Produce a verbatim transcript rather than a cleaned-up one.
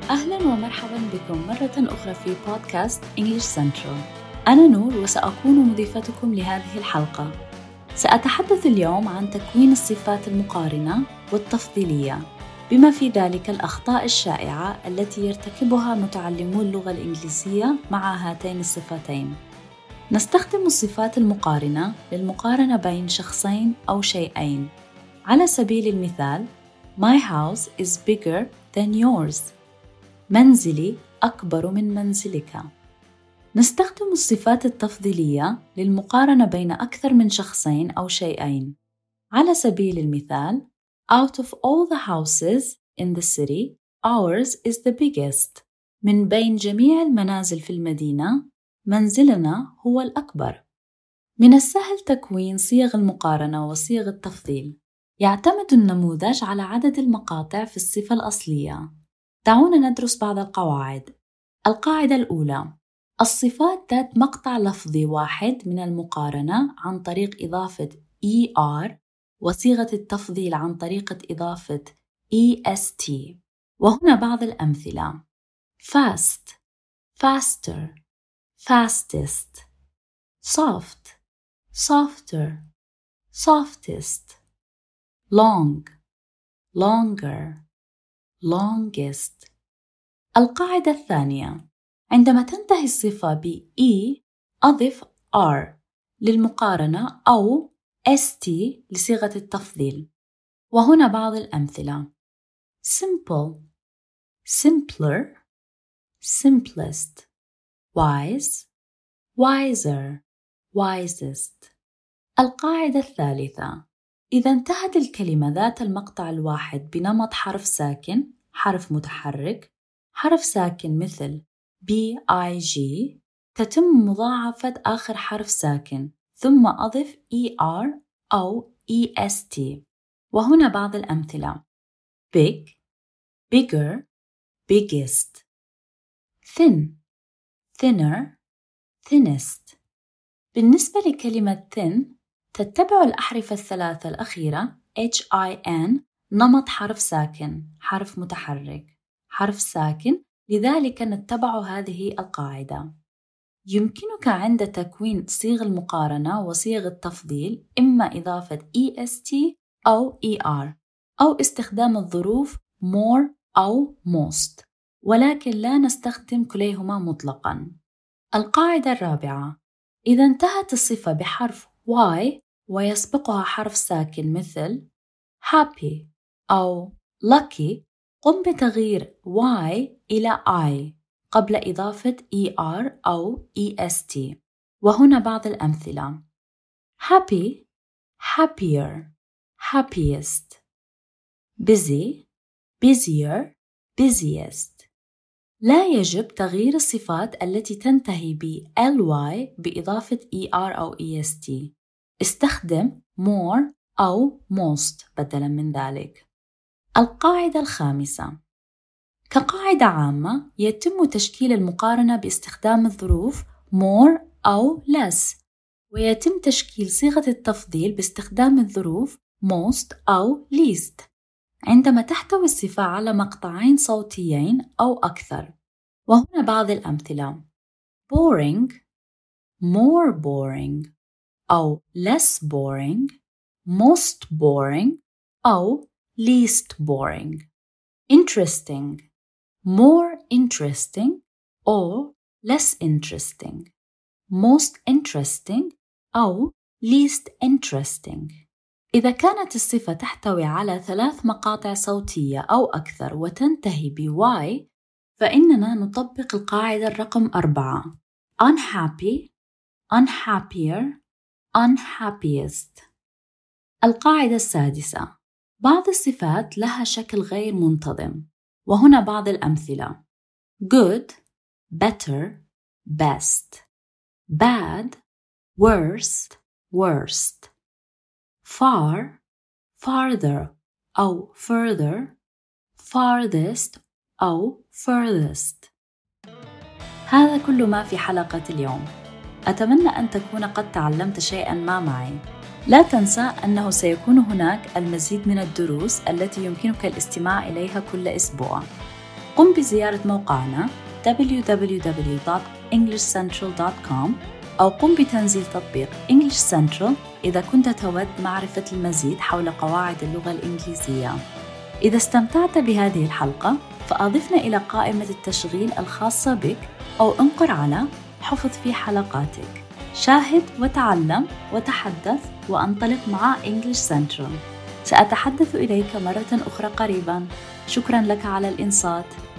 أهلاً ومرحباً بكم مرة أخرى في بودكاست English Central. أنا نور وسأكون مضيفتكم لهذه الحلقة. سأتحدث اليوم عن تكوين الصفات المقارنة والتفضيلية، بما في ذلك الأخطاء الشائعة التي يرتكبها متعلمو اللغة الإنجليزية مع هاتين الصفتين. نستخدم الصفات المقارنة للمقارنة بين شخصين أو شيئين. على سبيل المثال، My house is bigger than yours. منزلي أكبر من منزلك. نستخدم الصفات التفضيلية للمقارنة بين أكثر من شخصين أو شيئين. على سبيل المثال، Out of all the houses in the city, ours is the biggest. من بين جميع المنازل في المدينة، منزلنا هو الأكبر. من السهل تكوين صيغ المقارنة وصيغ التفضيل. يعتمد النموذج على عدد المقاطع في الصفة الأصلية. دعونا ندرس بعض القواعد. القاعدة الأولى: الصفات ذات مقطع لفظي واحد من المقارنة عن طريق إضافة er، وصيغة التفضيل عن طريقة إضافة est. وهنا بعض الأمثلة: fast, faster, fastest; soft, softer, softest; long, longer, longest. القاعدة الثانية: عندما تنتهي الصفة ب e أضف r للمقارنة أو st لصيغة التفضيل. وهنا بعض الأمثلة: simple, simpler, simplest; wise, wiser, wisest. القاعدة الثالثة: إذا انتهت الكلمة ذات المقطع الواحد بنمط حرف ساكن، حرف متحرك، حرف ساكن مثل big، تتم مضاعفة آخر حرف ساكن ثم أضف er أو est. وهنا بعض الأمثلة: big, bigger, biggest; thin, thinner, thinnest. بالنسبة لكلمة thin، تتبع الأحرف الثلاثة الأخيرة hin نمط حرف ساكن، حرف متحرك، حرف ساكن، لذلك نتبع هذه القاعدة. يمكنك عند تكوين صيغ المقارنة وصيغ التفضيل إما إضافة est أو er، أو استخدام الظروف more أو most، ولكن لا نستخدم كليهما مطلقاً. القاعدة الرابعة: إذا انتهت الصفة بحرف y ويسبقها حرف ساكن مثل happy أو lucky، قم بتغيير y إلى I قبل إضافة er أو est. وهنا بعض الأمثلة: happy, happier, happiest; busy, busier, busiest. لا يجب تغيير الصفات التي تنتهي ب ly بإضافة er أو est. استخدم more أو most بدلاً من ذلك. القاعدة الخامسة: كقاعدة عامة يتم تشكيل المقارنة باستخدام الظروف more أو less، ويتم تشكيل صيغة التفضيل باستخدام الظروف most أو least عندما تحتوي الصفة على مقطعين صوتيين أو أكثر. وهنا بعض الأمثلة: boring, more boring، أو less boring، most boring، أو least boring. interesting, more interesting or less interesting، most interesting أو least interesting. إذا كانت الصفة تحتوي على ثلاث مقاطع صوتية أو أكثر وتنتهي ب y، فإننا نطبق القاعدة الرقم أربعة: unhappy, unhappier, unhappiest. القاعدة السادسة: بعض الصفات لها شكل غير منتظم. وهنا بعض الأمثلة: good, better, best; bad, worst, worst; far, farther أو further; farthest أو furthest. هذا كل ما في حلقة اليوم. أتمنى أن تكون قد تعلمت شيئاً ما معي. لا تنسى أنه سيكون هناك المزيد من الدروس التي يمكنك الاستماع إليها كل أسبوع. قم بزيارة موقعنا دبليو دبليو دبليو دوت إنجليش سنترال دوت كوم أو قم بتنزيل تطبيق English Central إذا كنت تود معرفة المزيد حول قواعد اللغة الإنجليزية. إذا استمتعت بهذه الحلقة فأضفنا إلى قائمة التشغيل الخاصة بك أو انقر على حفظ في حلقاتك. شاهد وتعلم وتحدث وانطلق مع English Central. سأتحدث إليك مرة أخرى قريباً. شكراً لك على الإنصات.